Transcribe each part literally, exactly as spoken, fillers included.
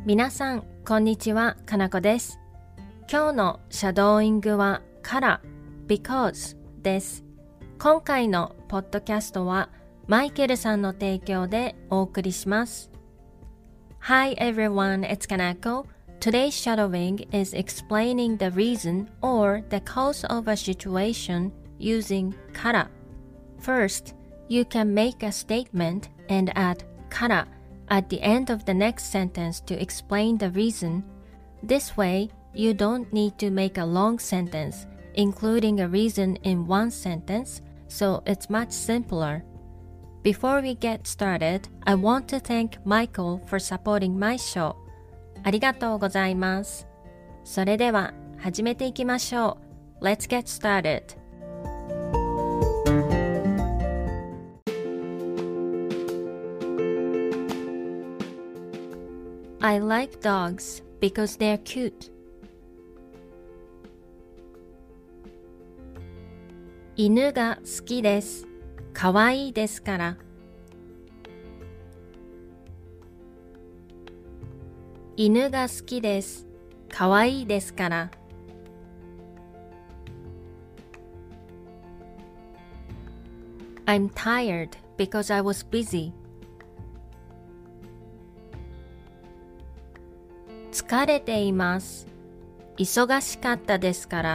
皆さん、こんにちは、かなこです。今日のシャドーイングはから because です。今回のポッドキャストはマイケルさんの提供でお送りします。Hi everyone, it's Kanako. Today's shadowing is explaining the reason or the cause of a situation using から。First, you can make a statement and add からat the end of the next sentence to explain the reason. This way, you don't need to make a long sentence, including a reason in one sentence, so it's much simpler. Before we get started, I want to thank Michael for supporting my show. ありがとうございます。それでは始めていきましょう。Let's get started.I like dogs because they're cute. 犬が好きです。かわいいですから。犬が好きです。かわいいですから。I'm tired because I was busy.疲れています。忙しかったですから。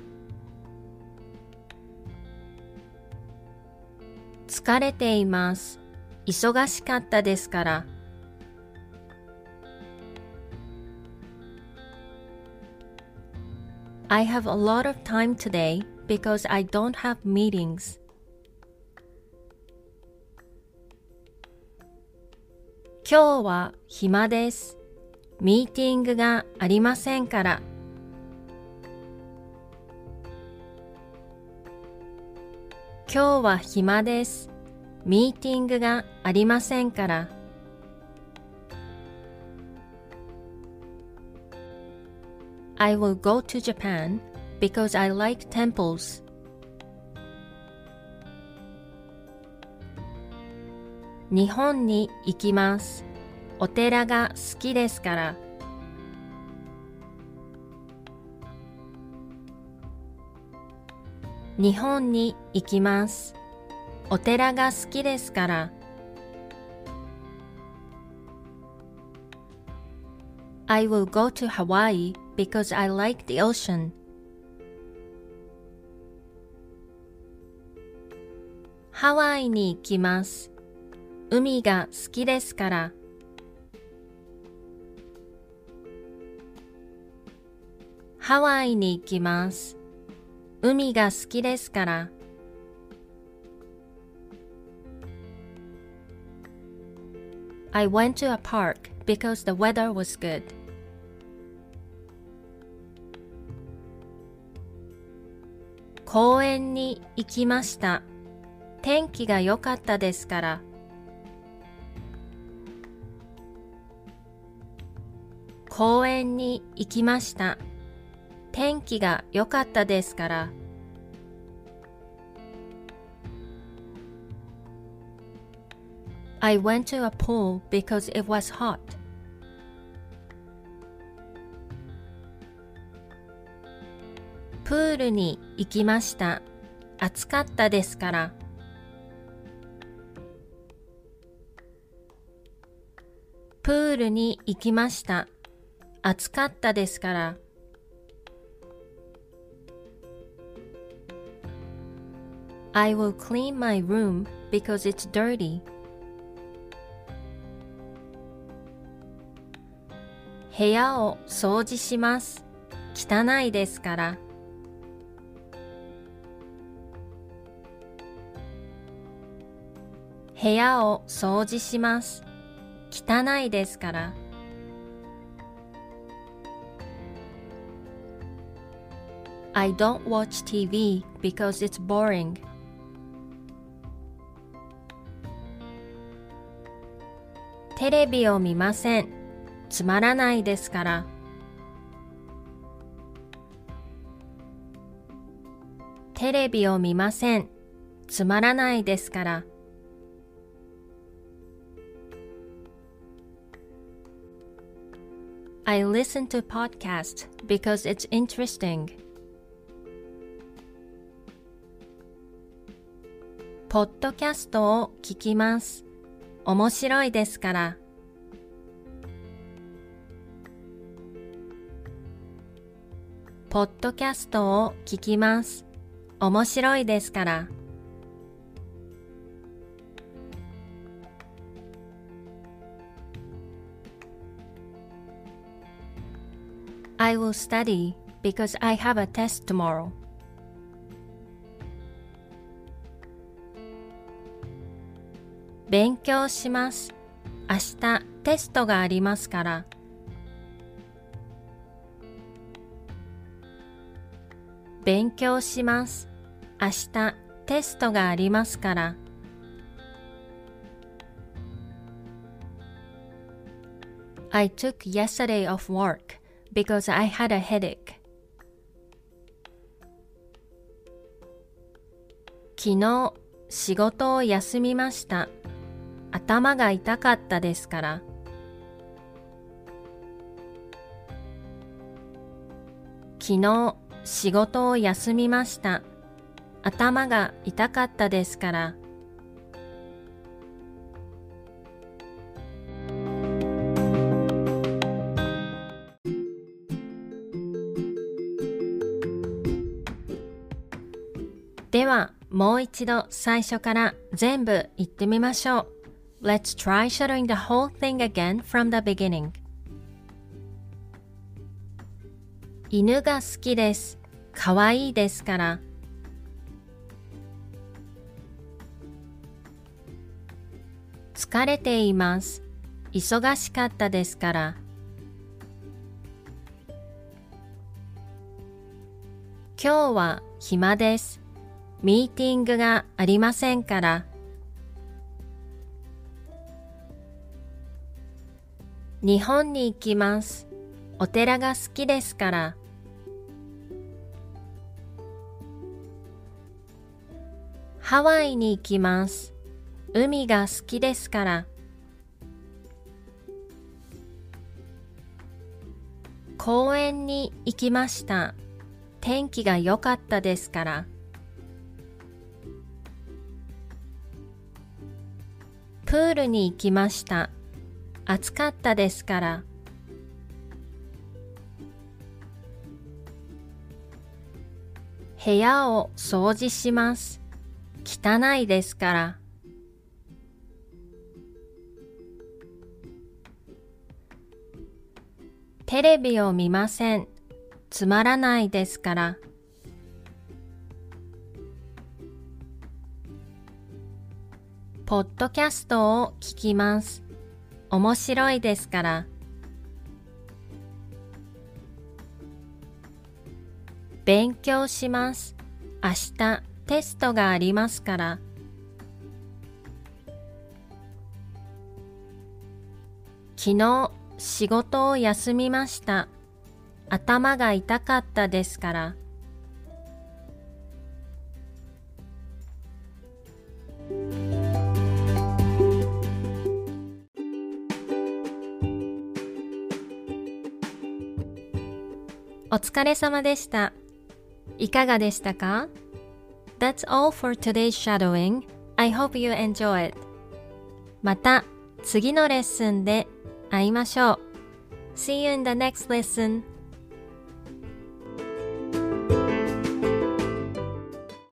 疲れています。忙しかったですから。I have a lot of time today because I don't have meetings. 今日は暇です。ミーティングがありませんから。今日は暇です。ミーティングがありませんから。I will go to Japan because I like temples. 日本に行きます。お寺が好きですから。日本に行きます。お寺が好きですから。I will go to Hawaii because I like the ocean. ハワイに行きます。海が好きですから。ハワイに行きます。海が好きですから。I went to a park because the weather was good. 公園に行きました。天気が良かったですから。公園に行きました。天気が良かったですから。I went to a pool because it was hot. プールに行きました。暑かったですから。プールに行きました。暑かったですから。I will clean my room because it's dirty. 部屋を掃除します。汚いですから。部屋を掃除します。汚いですから。I don't watch ティーブイ because it's boring. テレビを見ません。つまらないですから。テレビを見ません。つまらないですから。 I listen to podcasts because it's interesting. ポッドキャストを聞きます。面白いですから。ポッドキャストを聞きます。面白いですから。I will study because I have a test tomorrow. 勉強します。明日テストがありますから。勉強します。明日テストがありますから。I took yesterday off work because I had a headache. 昨日仕事を休みました。頭が痛かったですから。昨日仕事を休みました。頭が痛かったですから。では、もう一度最初から全部言ってみましょう。Let's try shadowing the whole thing again from the beginning. 犬が好きです。かわいいですから。疲れています。忙しかったですから。今日は暇です。ミーティングがありませんから。日本に行きます。お寺が好きですから。ハワイに行きます。海が好きですから。公園に行きました。天気が良かったですから。プールに行きました。暑かったですから。部屋を掃除します。汚いですから。テレビを見ません。つまらないですから。ポッドキャストを聞きます。面白いですから。勉強します。明日テストがありますから。昨日仕事を休みました。頭が痛かったですから。お疲れ様でした。いかがでしたか？ That's all for today's shadowing. I hope you enjoy it. また次のレッスンで会いましょう。See you in the next lesson.